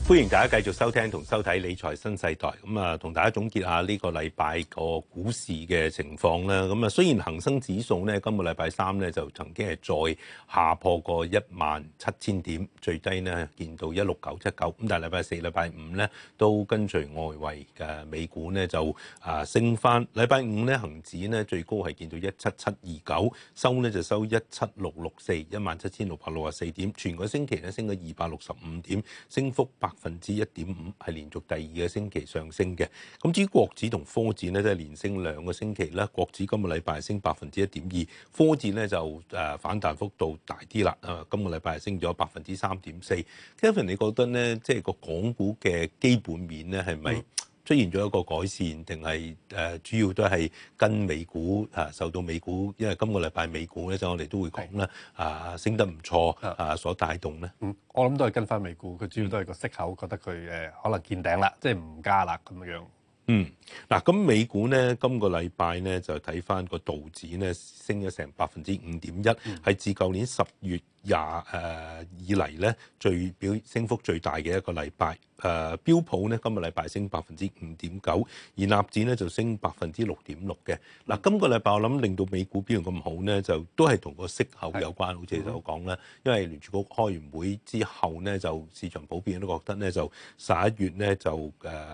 歡迎大家繼續收聽同收睇理財新世代。同大家總結下呢個禮拜個股市嘅情況啦。雖然恒生指數呢，今個禮拜三呢就曾經係再下破過17000點，最低呢見到16979。咁但係禮拜四、禮拜五呢都跟隨外圍嘅美股呢就升翻。禮拜五呢恒指呢最高係見到17729，收呢就收17664，17664點。全個星期呢升咗265點，升幅1.5%，係連續第二個星期上升嘅。咁至於國指同科指呢，都係連升2個星期啦。國指今個禮拜升1.2%，科指呢就反彈幅度大啲啦。今個禮拜係升咗3.4%。Kevin， 你覺得呢？即係個港股嘅基本面呢，係咪出現咗一個改善，定係主要都係跟美股受到美股，因為今個禮拜美股咧就我哋都會講啦，升得唔錯所帶動咧。 我諗都係跟翻美股，佢主要都係個息口，覺得佢可能見頂啦，即係唔加啦咁樣。 咁美股咧今個禮拜咧就睇翻個道指咧升咗成5.1%，係自舊年10月以嚟咧升幅最大嘅一個禮拜。標普咧今個禮拜升5.9%，而納指咧就升6.6%嘅。今個禮拜我諗令到美股表現咁好咧，就都係同個息口有關，好似你所講啦。因為聯儲局開完會之後咧，就市場普遍都覺得咧就11月咧就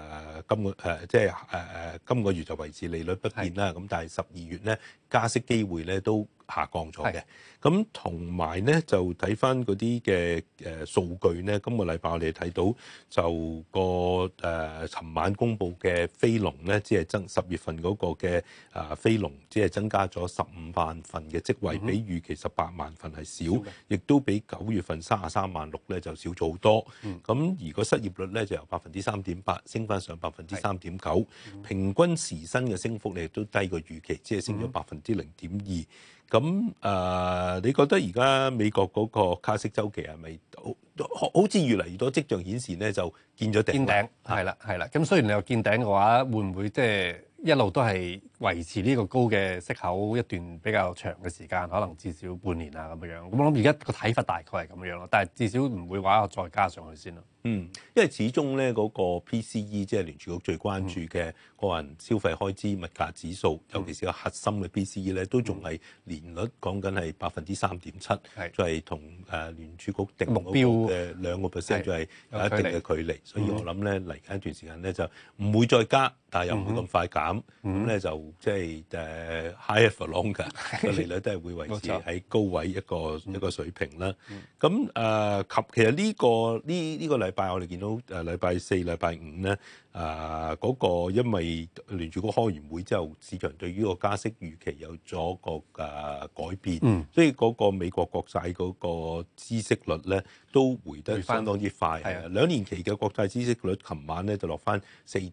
今個月就維持利率不變啦。咁但係12月咧加息機會咧都下降咗嘅。咁同埋咧就睇翻嗰啲嘅數據咧，今個禮拜我哋睇到就尋晚公布嘅非農咧，只係10月份嗰個嘅非農只係增加咗15萬份嘅職位，比預期18萬份係少，亦都比9月份33萬6咧就少咗好多。咁而個失業率咧就由3.8%升翻上3.9%，平均時薪嘅升幅咧亦都低過預期，只係升咗0.2%。咁你覺得而家美國嗰個加息週期係咪好似越嚟越多跡象顯示咧就見咗頂？ 見頂係啦。咁雖然你話見頂嘅話，會唔會即係一路都係維持呢個高嘅息口一段比較長嘅時間，可能至少半年啊咁樣？咁我諗而家個睇法大概係咁樣咯，但係至少唔會話再加上去先咯。 因為始終咧嗰個 PCE 即係聯儲局最關注嘅個人消費開支物價指數，尤其是個核心嘅 PCE 咧，都仲係年率講緊係3.7%，就係同聯儲局定目標嘅2%，就係有一定嘅距離。所以我諗咧嚟緊一段時間咧就唔會再加，但係又唔會咁快減。咁咧就即係higher for longer 個利率都係會維持喺高位一個水平啦。咁其實呢個禮拜我哋見到禮拜四、禮拜五咧，嗰個因為聯儲局開完會之後，市場對於個加息預期有咗個改變，所以嗰個美國國債嗰個孳息率咧都回得相當之快。2年期嘅國債孳息率，琴晚咧就落翻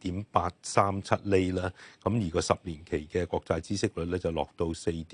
4.837厘啦。咁而個10年期嘅國債孳息率咧就落到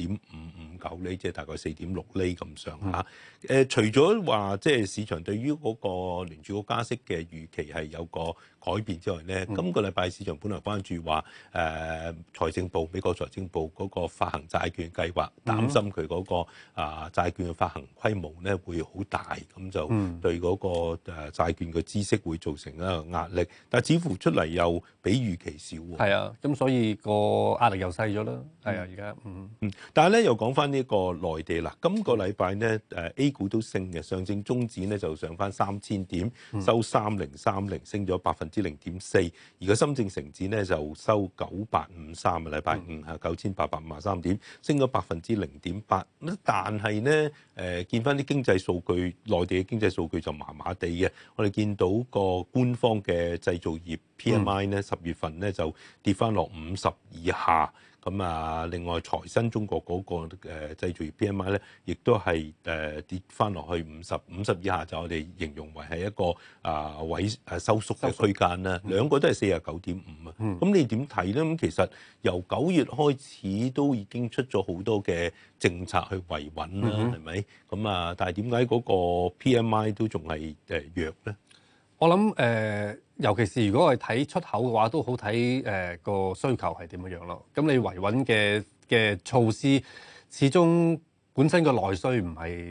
4.559厘，即係大概4.6厘咁上下。除咗話即係市場對於嗰個聯儲局加息嘅預期係有個改變之外咧，今個禮拜市場本來關注話美國財政部嗰個發行債券計劃，擔心佢嗰個債券嘅發行規模咧會好大，咁就對嗰個債券嘅孳息會造成一個壓力。但係似乎出嚟又比預期少喎。 係啊，咁所以個壓力又細咗啦。係啊，而家但係咧又講翻呢個內地啦，今個禮拜咧A 股都升嘅，上證綜指咧就上翻3000點，收3030，升咗0.4%。而個深證成指咧就收9853啊，禮拜五係9853點，升咗0.8%。但係咧見翻啲經濟數據，內地嘅經濟數據就麻麻地嘅。我哋見到個官方嘅製造業 PMI 咧10月份咧就跌翻落50以下。另外財新中國嗰個製造業 PMI 咧，亦都係跌翻落去50以下，就我哋形容為係一個收縮嘅區間啦。兩個都係49.5啊。咁你點睇咧？咁其實由9月開始都已經出咗好多嘅政策去維穩啦，係咪？但係點解嗰個 PMI 都仲係弱咧？ 我諗尤其是如果我哋睇出口嘅話，都好睇個需求係點樣咯。咁你維穩嘅措施，始終本身個內需唔係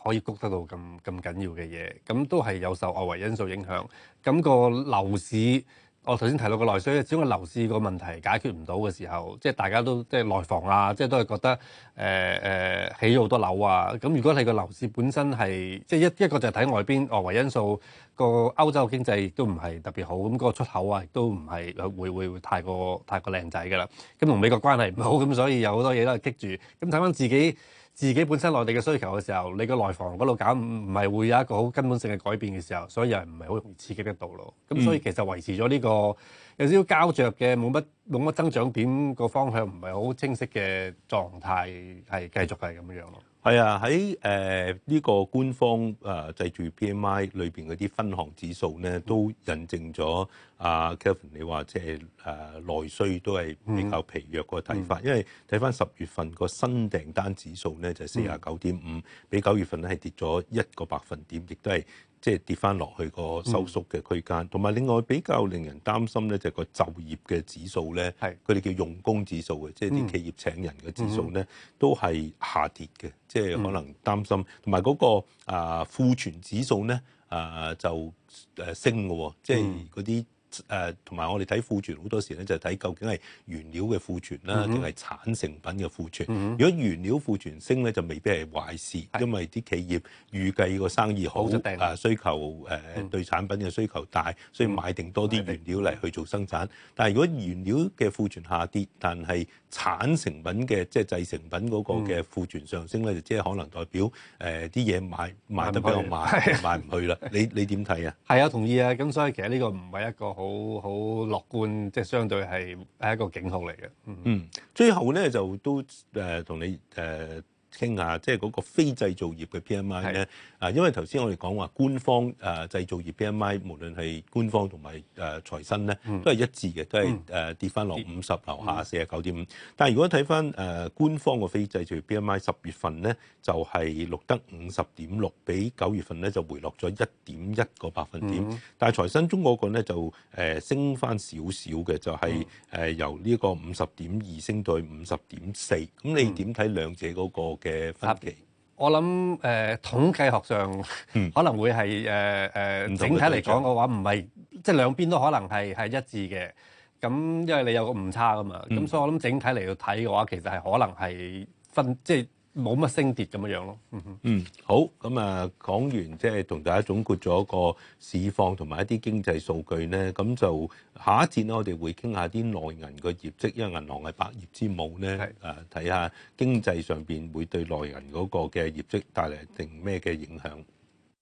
可以谷得到咁緊要嘅嘢，咁都係有受外圍因素影響。咁個樓市，我頭先提到個內需，只要個樓市個問題解決唔到嘅時候，即係大家都即係內房啊，即係都係覺得起咗好多樓啊。咁如果你個樓市本身係即係一個就係睇外邊外圍因素，個歐洲經濟亦都唔係特別好，咁個出口啊亦都唔係會太過靚仔㗎啦。咁同美國關係唔好，咁所以有好多嘢都係棘住。咁睇翻自己本身內地嘅需求嘅時候，你個內房嗰度搞唔係會有一個好根本性嘅改變嘅時候，所以又唔係好容易刺激得到咯。咁所以其實維持咗呢個有少少膠着嘅冇乜增長點個方向唔係好清晰嘅狀態，係繼續係咁樣咯。 係啊，喺呢個官方製造業 PMI 裏邊嗰啲分項指數咧，都印證咗Kelvin 你話即係內需都係比較疲弱個睇法，因為睇翻10月份個新訂單指數咧就係49.5，比9月份咧係跌咗1個百分點，亦都係即係跌翻落去個收縮嘅區間。同埋另外比較令人擔心咧就係個就業嘅指數咧，佢哋叫用工指數嘅，即係啲企業請人嘅指數咧都係下跌嘅。即係可能擔心，同埋嗰個庫存指數咧就升嘅喎，即係嗰啲同埋我哋睇庫存好多時咧就睇究竟係原料嘅庫存啦，定係產成品嘅庫存。如果原料庫存升咧，就未必係壞事，因為啲企業預計個生意好，需求對產品嘅需求大，所以買定多啲原料嚟去做生產。但係如果原料嘅庫存下跌，但係產成品嘅即係製成品嗰個嘅庫存上升咧，就即係可能代表啲嘢賣得比較慢，賣唔去啦。你點睇啊？ 係啊，同意啊。咁所以其實呢個唔係一個好樂觀，即係相對係一個警號嚟嘅。 最後咧就都同你傾下，即係嗰個非製造業嘅 PMI 咧，因為頭先我哋講話官方製造業 PMI，無論係官方同埋財新咧，都係一致嘅，都係跌翻落50樓下49.5。但係如果睇翻官方嘅非製造業 PMI 10月份咧，就係錄得50.6，比9月份咧就回落咗1.1個百分點。但係財新中嗰個咧就升翻少少嘅，就係由呢個50.2升到去50.4。咁你點睇兩者嗰個嘅分歧？ 我諗統計學上可能會係整體嚟講嘅話，唔係即係兩邊都可能係一致嘅。咁因為你有個誤差㗎嘛，咁所以我諗整體嚟到睇嘅話，其實係可能係即係冇乜升跌咁樣咯。 好，咁講完即係同大家總括咗個市況同埋一啲經濟數據咧，咁就下一節咧，我哋會傾下啲內銀嘅業績，因為銀行係百業之母咧，睇下經濟上邊會對內銀嗰個嘅業績帶嚟定咩嘅影響。